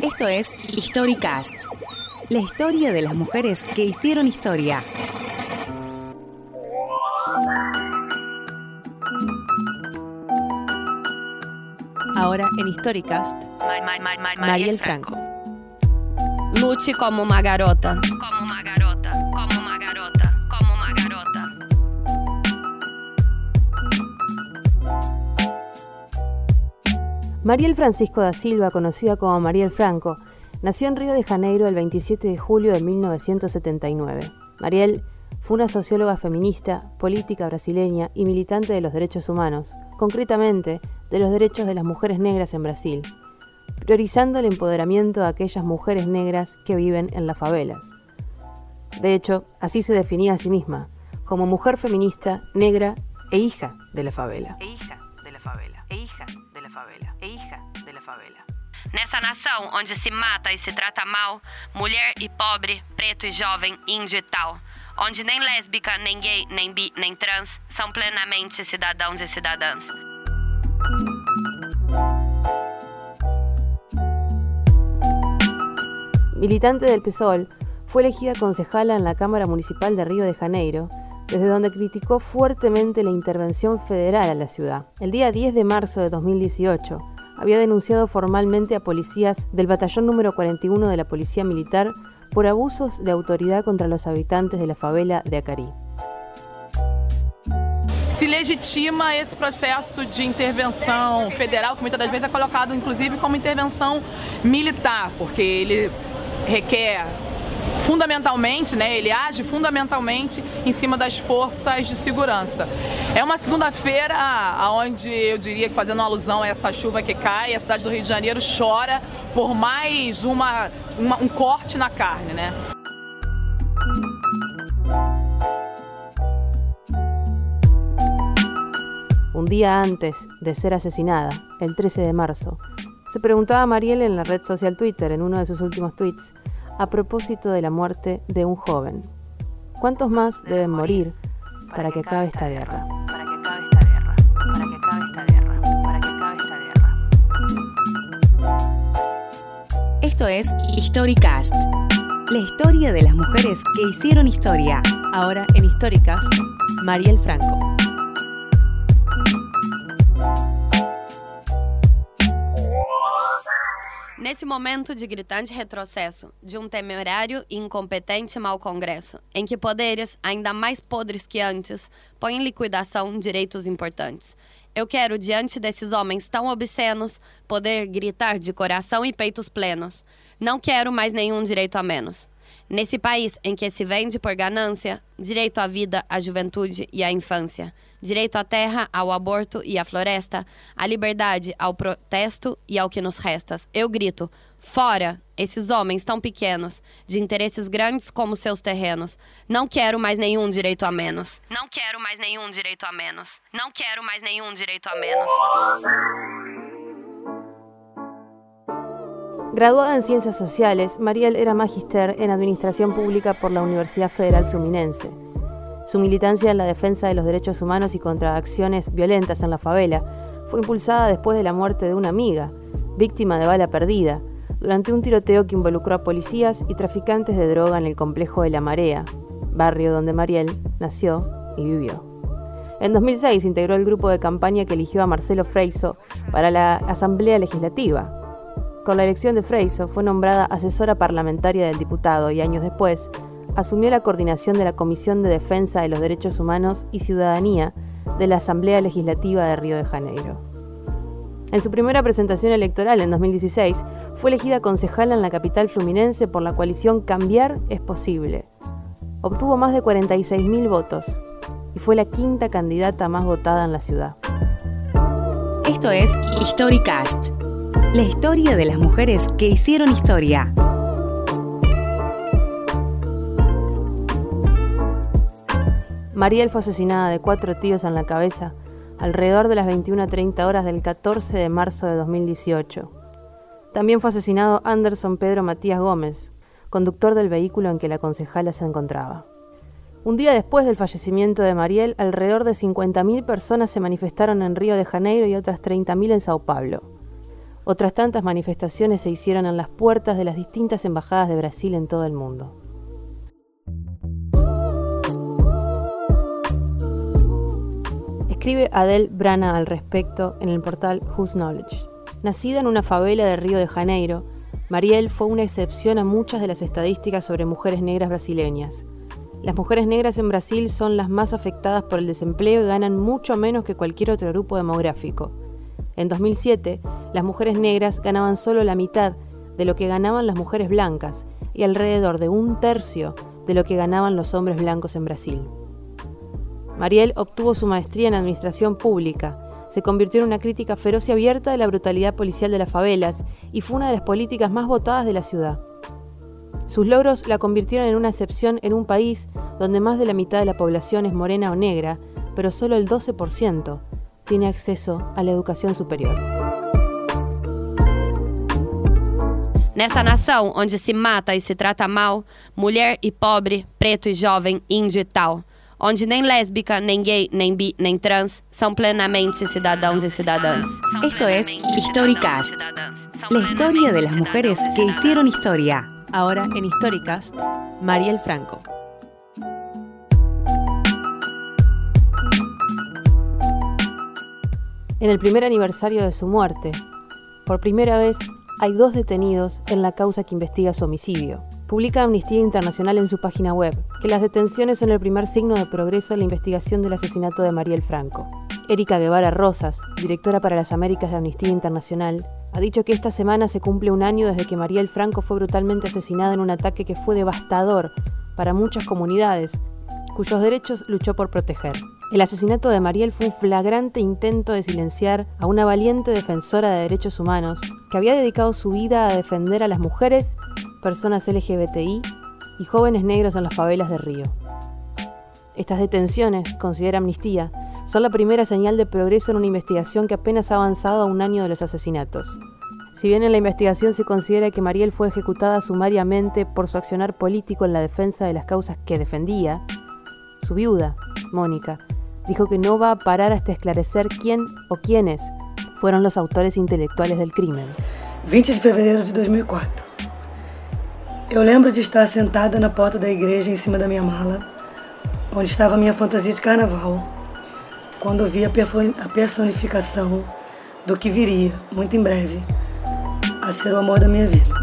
Esto es Historicast, la historia de las mujeres que hicieron historia. Ahora en Historicast, Mariel Franco. Lute como uma garota. Como uma garota, como uma garota, como uma garota. Mariel Francisco da Silva, conocida como Mariel Franco, nació en Río de Janeiro el 27 de julio de 1979. Mariel fue una socióloga feminista, política brasileña y militante de los derechos humanos, concretamente de los derechos de las mujeres negras en Brasil, priorizando el empoderamiento de aquellas mujeres negras que viven en las favelas. De hecho, así se definía a sí misma, como mujer feminista, negra e hija de la favela. Nessa nação onde se mata e se trata mal, mulher e pobre, preto e jovem, índio e tal, onde nem lésbica, nem gay, nem bi, nem trans são plenamente cidadãos e cidadãs. Militante del PSOL, fue elegida concejala en la Cámara Municipal de Río de Janeiro, desde donde criticó fuertemente la intervención federal a la ciudad. El día 10 de marzo de 2018, había denunciado formalmente a policías del batallón número 41 de la Policía Militar por abusos de autoridad contra los habitantes de la favela de Acari. Se legitima esse processo de intervenção federal, que muitas das vezes é colocado inclusive como intervenção militar, porque ele requer fundamentalmente, ele age fundamentalmente em cima das forças de segurança. É uma segunda-feira onde eu diria que, fazendo uma alusão a essa chuva que cai, a cidade do Rio de Janeiro chora por mais um corte na carne, né? Un día antes de ser asesinada, el 13 de marzo, se preguntaba a Mariel en la red social Twitter, en uno de sus últimos tweets, a propósito de la muerte de un joven. ¿Cuántos más deben morir para que acabe esta guerra? Esto es Historicast, la historia de las mujeres que hicieron historia. Ahora en Historicast, Mariel Franco. Nesse momento de gritante retrocesso, de um temerário e incompetente mau congresso, em que poderes, ainda mais podres que antes, põem em liquidação direitos importantes. Eu quero, diante desses homens tão obscenos, poder gritar de coração e peitos plenos. Não quero mais nenhum direito a menos. Nesse país em que se vende por ganância, direito à vida, à juventude e à infância, direito à terra, ao aborto e à floresta, à liberdade, ao protesto e ao que nos resta. Eu grito, fora, esses homens tão pequenos, de interesses grandes como seus terrenos. Não quero mais nenhum direito a menos. Não quero mais nenhum direito a menos. Não quero mais nenhum direito a menos. Graduada en Ciencias Sociales, Mariel era magíster en Administración Pública por la Universidad Federal Fluminense. Su militancia en la defensa de los derechos humanos y contra acciones violentas en la favela fue impulsada después de la muerte de una amiga, víctima de bala perdida, durante un tiroteo que involucró a policías y traficantes de droga en el complejo de La Marea, barrio donde Mariel nació y vivió. En 2006 integró el grupo de campaña que eligió a Marcelo Freixo para la Asamblea Legislativa. Con la elección de Freixo fue nombrada asesora parlamentaria del diputado y años después asumió la coordinación de la Comisión de Defensa de los Derechos Humanos y Ciudadanía de la Asamblea Legislativa de Río de Janeiro. En su primera presentación electoral en 2016, fue elegida concejala en la capital fluminense por la coalición Cambiar es Posible. Obtuvo más de 46.000 votos y fue la quinta candidata más votada en la ciudad. Esto es Historicast, la historia de las mujeres que hicieron historia. Mariel fue asesinada de 4 tiros en la cabeza alrededor de las 21:30 horas del 14 de marzo de 2018. También fue asesinado Anderson Pedro Matías Gómez, conductor del vehículo en que la concejala se encontraba. Un día después del fallecimiento de Mariel, alrededor de 50.000 personas se manifestaron en Río de Janeiro y otras 30.000 en Sao Paulo. Otras tantas manifestaciones se hicieron en las puertas de las distintas embajadas de Brasil en todo el mundo. Escribe Adele Brana al respecto en el portal Whose Knowledge. Nacida en una favela de Río de Janeiro, Marielle fue una excepción a muchas de las estadísticas sobre mujeres negras brasileñas. Las mujeres negras en Brasil son las más afectadas por el desempleo y ganan mucho menos que cualquier otro grupo demográfico. En 2007, las mujeres negras ganaban solo la mitad de lo que ganaban las mujeres blancas y alrededor de 1/3 de lo que ganaban los hombres blancos en Brasil. Marielle obtuvo su maestría en Administración Pública, se convirtió en una crítica feroz y abierta de la brutalidad policial de las favelas y fue una de las políticas más votadas de la ciudad. Sus logros la convirtieron en una excepción en un país donde más de la mitad de la población es morena o negra, pero solo el 12% tiene acceso a la educación superior. Nessa nação onde se mata e se trata mal, mulher e pobre, preto e jovem, índio e tal, onde nem lésbica, nem gay, nem bi, nem trans são plenamente cidadãos e cidadãs. Esto es Historicast, la historia de las mujeres que hicieron historia. Ahora en Historicast, Marielle Franco. En el primer aniversario de su muerte, por primera vez hay 2 detenidos en la causa que investiga su homicidio. Publica Amnistía Internacional en su página web que las detenciones son el primer signo de progreso en la investigación del asesinato de Marielle Franco. Erika Guevara Rosas, directora para las Américas de Amnistía Internacional, ha dicho que esta semana se cumple 1 año desde que Marielle Franco fue brutalmente asesinada en un ataque que fue devastador para muchas comunidades, cuyos derechos luchó por proteger. El asesinato de Marielle fue un flagrante intento de silenciar a una valiente defensora de derechos humanos que había dedicado su vida a defender a las mujeres, personas LGBTI y jóvenes negros en las favelas de Río. Estas detenciones, considera Amnistía, son la primera señal de progreso en una investigación que apenas ha avanzado a 1 año de los asesinatos. Si bien en la investigación se considera que Marielle fue ejecutada sumariamente por su accionar político en la defensa de las causas que defendía, su viuda, Mónica, dijo que no va a parar hasta esclarecer quién o quiénes fueron los autores intelectuales del crimen. 20 de fevereiro de 2004. Eu lembro de estar sentada na porta da igreja em cima da minha mala, onde estava a minha fantasia de carnaval, quando vi a personificação do que viria, muito em breve, a ser o amor da minha vida.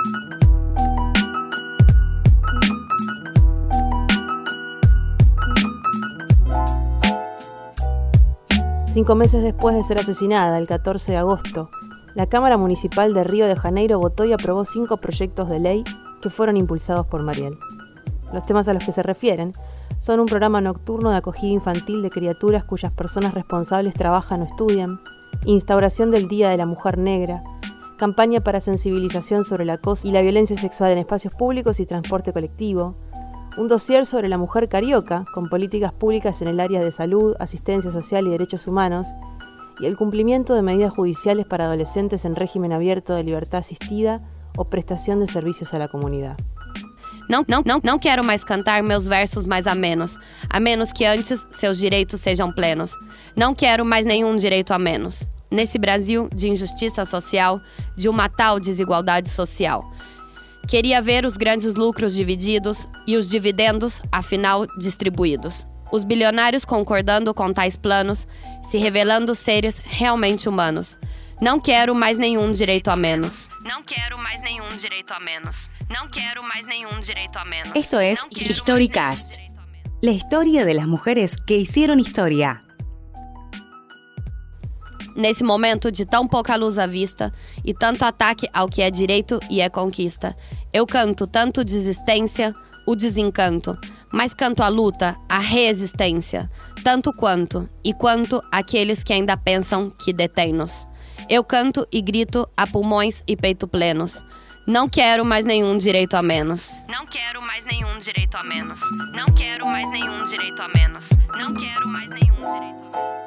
Cinco meses después de ser asesinada, el 14 de agosto, la Cámara Municipal de Río de Janeiro votó y aprobó 5 proyectos de ley que fueron impulsados por Marielle. Los temas a los que se refieren son un programa nocturno de acogida infantil de criaturas cuyas personas responsables trabajan o estudian, instauración del Día de la Mujer Negra, campaña para sensibilización sobre el acoso y la violencia sexual en espacios públicos y transporte colectivo, un dossier sobre la mujer carioca, con políticas públicas en el área de salud, asistencia social y derechos humanos, y el cumplimiento de medidas judiciales para adolescentes en régimen abierto de libertad asistida o prestação de serviços à la comunidade. Não quero mais cantar meus versos mais a menos que antes seus direitos sejam plenos. Não quero mais nenhum direito a menos. Nesse Brasil de injustiça social, de uma tal desigualdade social. Queria ver os grandes lucros divididos e os dividendos, afinal, distribuídos. Os bilionários concordando com tais planos, se revelando seres realmente humanos. Não quero mais nenhum direito a menos. Não quero mais nenhum direito a menos. Não quero mais nenhum direito a menos. Esto es Historicast, la historia de las mujeres que hicieron historia. Nesse momento de tão pouca luz à vista e tanto ataque ao que é direito e é conquista, eu canto tanto desistência, o desencanto, mas canto a luta, a resistência, tanto quanto aqueles que ainda pensam que detêm-nos. Eu canto e grito a pulmões e peito plenos. Não quero mais nenhum direito a menos. Não quero mais nenhum direito a menos. Não quero mais nenhum direito a menos. Não quero mais nenhum direito a menos.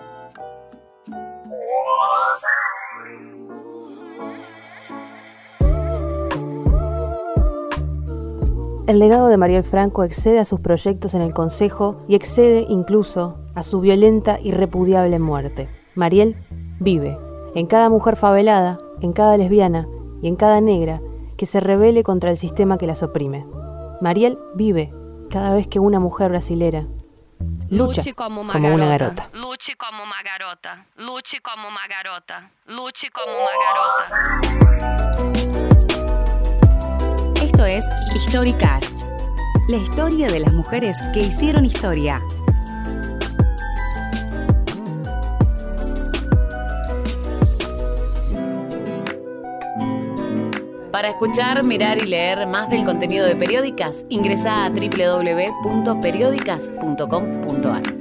El legado de Marielle Franco excede a sus proyectos en el Consejo y excede incluso a su violenta y repudiable muerte. Marielle vive en cada mujer favelada en cada lesbiana y en cada negra que se rebele contra el sistema que las oprime. Mariel vive cada vez que una mujer brasilera lucha como una garota. Luche como una garota. Luche como una garota. Luche como una garota. Esto es Historicast, la historia de las mujeres que hicieron historia. Para escuchar, mirar y leer más del contenido de Periódicas, ingresa a www.periodicas.com.ar.